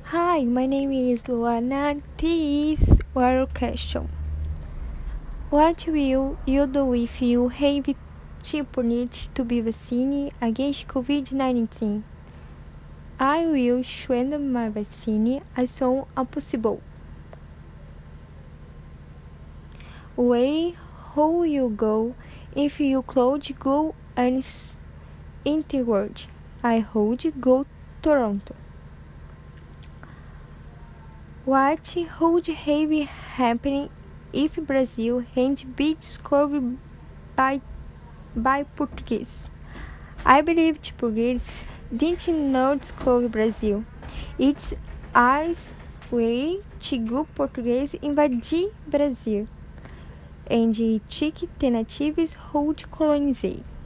Hi, my name is Luana. This is your question. What will you do if you have to need to be vaccinated against COVID-19? I will send my vaccine as soon as possible. Where will you go if you could go and in the world? I would go Toronto. What would have happened if Brazil hadn't been discovered by Portuguese? I believe the Portuguese didn't know discover Brazil. It's as way to go Portuguese invadir Brazil and took the natives who colonized.